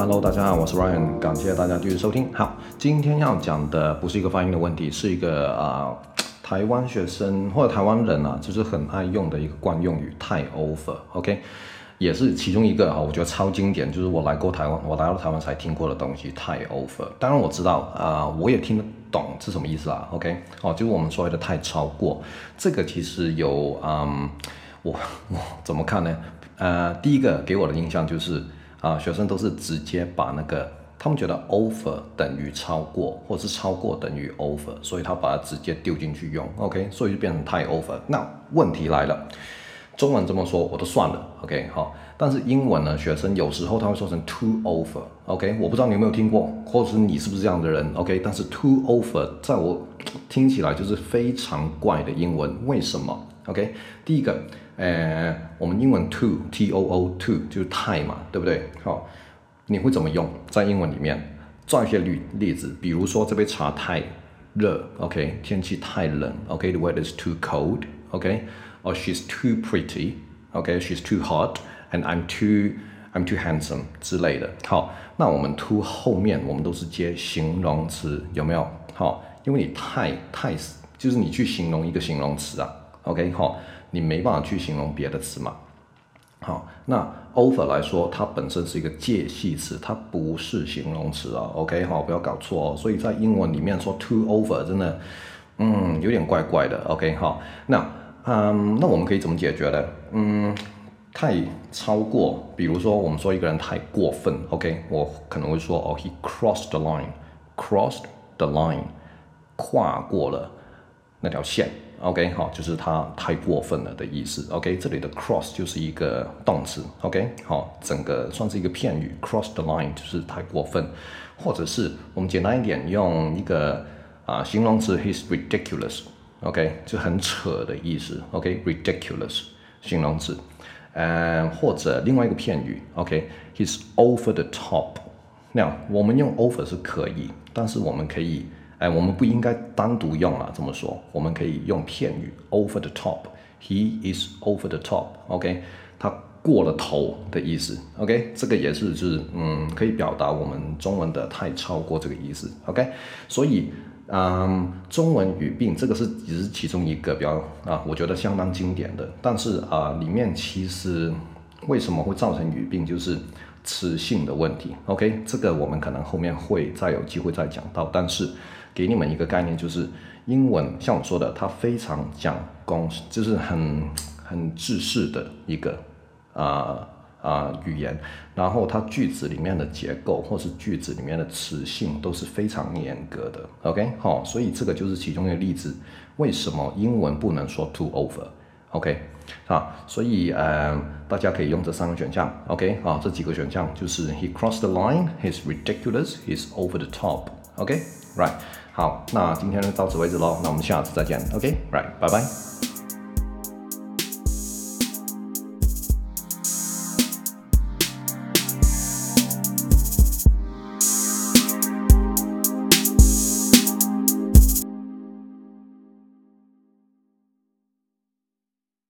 Hello， 大家好，我是 Ryan， 感謝大家繼續收聽。好，今天要講的不是一個發音的問題，是一個台灣學生或者台灣人啊，就是很愛用的一個慣用語，太 over，OK，也是其中一個我覺得超經典，就是我來到台灣才聽過的東西，太 over。當然我知道我也聽得懂是什麼意思啦 ，OK， 就是我們所謂的太超過，這個其實有我怎麼看呢？第一個給我的印象就是學生都是直接把那個他們覺得 over 等於超過，或是超過等於 over， 所以他把它直接丟進去用 ，OK， 所以就变成太 over。那問題來了，中文這麼說我都算了 ，OK， 好，但是英文呢，學生有時候他會說成 too over，OK， 我不知道你有沒有聽過，或者是你是不是這樣的人 ，OK， 但是 too over 在我聽起來就是非常怪的英文，為什麼 ？OK， 第一個。我們英文 too too 就是太嘛，對不對？好，你會怎麼用？在英文裡面，造一些例子，比如說這杯茶太熱 ，OK， 天氣太冷 ，OK，the weather is too cold，OK，or she's too pretty，OK，she's too hot，and I'm too handsome 之類的。好，那我們 too 後面我們都是接形容詞，有沒有？好，因為你太就是你去形容一個形容詞啊 ，OK， 好。你沒辦法去形容別的詞嘛？好，那 over 來說，它本身是一個介系詞，它不是形容詞啊。OK， 好，不要搞錯哦。所以在英文裡面說 too over 真的，有點怪怪的。OK， 好，那我們可以怎麼解決呢？太超過，比如說我們說一個人太過分 ，OK， 我可能會說he crossed the line， 跨過了那條線。OK， 好，就是他太過分了的意思。OK， 這裡的 cross 就是一個動詞。OK， 好，整個算是一個片語 ，cross the line 就是太過分，或者是我們簡單一點用一個形容詞 ，he's ridiculous。OK， 就很扯的意思。OK，ridiculous 形容詞。或者另外一個片語 ，OK，he's over the top。那我們用 over 是可以，但是我們可以。我們不應該單獨用這麼說，我們可以用片語 over the top，he is over the top，OK， 他過了頭的意思 ，OK， 這個也是就是可以表達我們中文的太超過這個意思 ，OK， 所以中文語病這個只是其中一個比較我覺得相當經典的，但是裡面其實為什麼會造成語病，就是詞性的問題 ，OK， 這個我們可能後面會再有機會再講到，但是給你們一個概念，就是英文像我說的，它非常講公式，就是很制式的一個語言，然後它句子裡面的結構或是句子裡面的詞性都是非常嚴格的 ，OK， 好，所以這個就是其中一個例子，為什麼英文不能說 too over，OK， 所以大家可以用這三個選項 ，OK， 這幾個選項就是 he crossed the line, he's ridiculous, he's over the top，OK，right， 好，那今天就到此為止咯，那我們下次再見 ，OK，right， 拜拜。